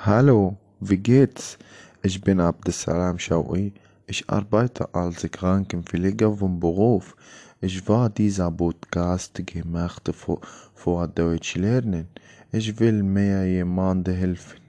Hallo, wie geht's? Ich bin Abdessalam Shawi. Ich arbeite als Krankenpfleger vom Beruf. Ich war dieser Podcast gemacht vor Deutsch lernen. Ich will mehr jemandem helfen.